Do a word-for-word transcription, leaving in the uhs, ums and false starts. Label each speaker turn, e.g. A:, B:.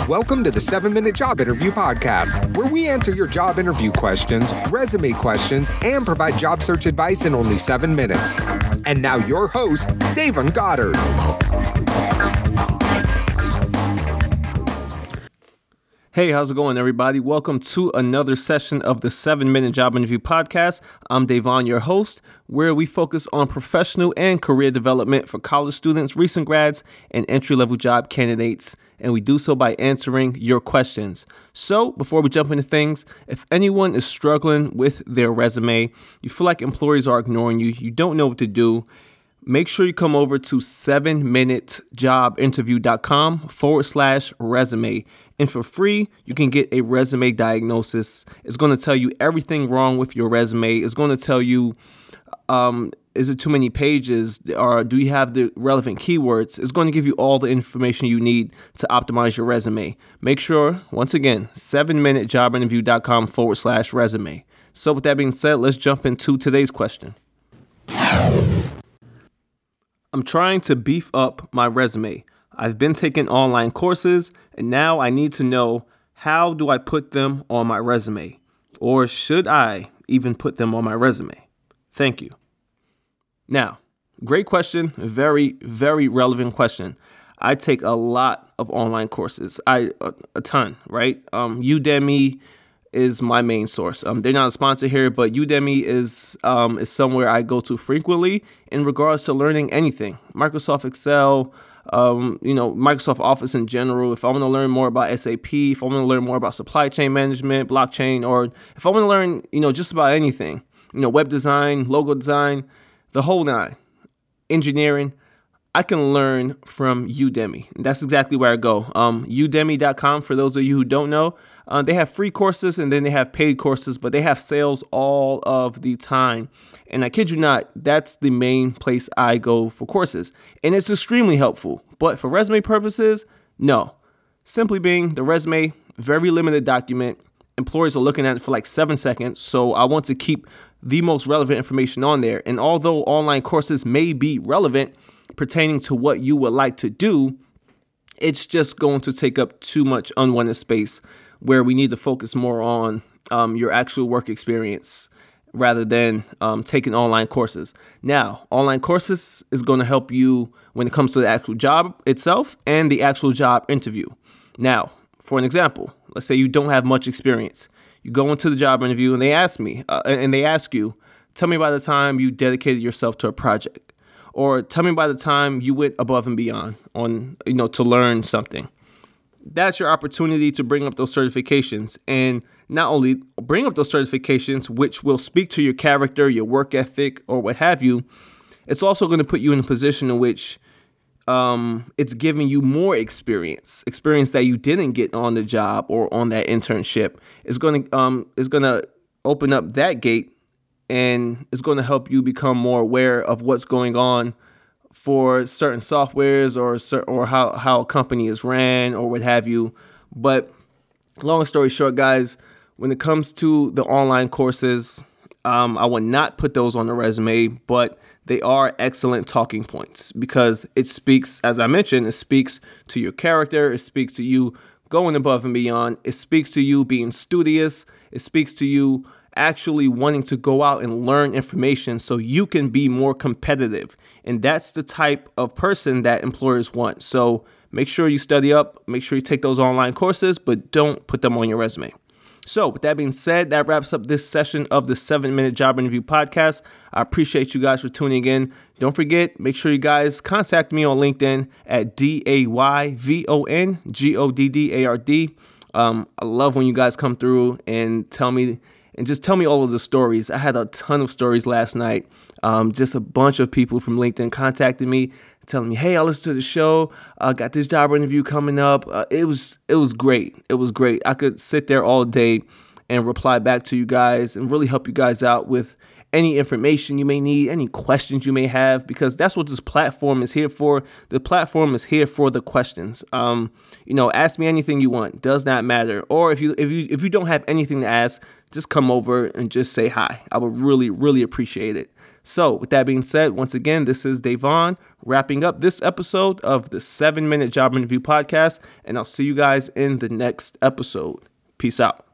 A: Welcome to the seven minute Job Interview Podcast, where we answer your job interview questions, resume questions, and provide job search advice in only seven minutes. And now your host, Davon Goddard.
B: Hey, how's it going, everybody? Welcome to another session of the seven minute Job Interview Podcast. I'm Davon, your host, where we focus on professional and career development for college students, recent grads, and entry-level job candidates, and we do so by answering your questions. So, before we jump into things, if anyone is struggling with their resume, you feel like employers are ignoring you, you don't know what to do, make sure you come over to seven minute job interview dot com forward slash resume. And for free, you can get a resume diagnosis. It's going to tell you everything wrong with your resume. It's going to tell you, um, is it too many pages? Or do you have the relevant keywords? It's going to give you all the information you need to optimize your resume. Make sure, once again, seven minute job interview dot com forward slash resume. So with that being said, let's jump into today's question. I'm trying to beef up my resume. I've been taking online courses, and now I need to know, how do I put them on my resume? Or should I even put them on my resume? Thank you. Now, great question. Very, very relevant question. I take a lot of online courses. I a, a ton, right? Um, Udemy is my main source. Um, they're not a sponsor here, but Udemy is um, is somewhere I go to frequently in regards to learning anything. Microsoft Excel, um, you know, Microsoft Office in general. If I want to learn more about S A P, if I want to learn more about supply chain management, blockchain, or if I want to learn, you know, just about anything, you know, web design, logo design, the whole nine, engineering, I can learn from Udemy. And that's exactly where I go. Um, udemy dot com, for those of you who don't know, uh, they have free courses and then they have paid courses, but they have sales all of the time. And I kid you not, that's the main place I go for courses. And it's extremely helpful. But for resume purposes, no. Simply being, the resume, very limited document. Employers are looking at it for like seven seconds. So I want to keep the most relevant information on there. And although online courses may be relevant pertaining to what you would like to do, it's just going to take up too much unwanted space, where we need to focus more on um, your actual work experience rather than um, taking online courses. Now, online courses is going to help you when it comes to the actual job itself and the actual job interview. Now, for an example, let's say you don't have much experience. You go into the job interview and they ask me, uh, and they ask you, tell me about the time you dedicated yourself to a project, or tell me about the time you went above and beyond on, you know, to learn something. That's your opportunity to bring up those certifications, and not only bring up those certifications, which will speak to your character, your work ethic, or what have you. It's also going to put you in a position in which um, it's giving you more experience, experience that you didn't get on the job or on that internship. It's going to um, it's going to open up that gate, and it's going to help you become more aware of what's going on for certain softwares or or how, how a company is ran or what have you. But long story short, guys, when it comes to the online courses, um, I would not put those on the resume, but they are excellent talking points because it speaks, as I mentioned, it speaks to your character. It speaks to you going above and beyond. It speaks to you being studious. It speaks to you actually wanting to go out and learn information so you can be more competitive. And that's the type of person that employers want. So make sure you study up, make sure you take those online courses, but don't put them on your resume. So with that being said, that wraps up this session of the seven minute Job Interview Podcast. I appreciate you guys for tuning in. Don't forget, make sure you guys contact me on LinkedIn at D A Y V O N G O D D A R D. Um, I love when you guys come through and tell me And just tell me all of the stories. I had a ton of stories last night. Um, just a bunch of people from LinkedIn contacted me, telling me, "Hey, I listened to the show. I uh, got this job interview coming up." Uh, it was it was great. It was great. I could sit there all day and reply back to you guys and really help you guys out with any information you may need, any questions you may have, because that's what this platform is here for. The platform is here for the questions. Um, you know, ask me anything you want. Does not matter. Or if you if you if you don't have anything to ask, just come over and just say hi. I would really, really appreciate it. So with that being said, once again, this is Davon wrapping up this episode of the seven minute Job Interview Podcast, and I'll see you guys in the next episode. Peace out.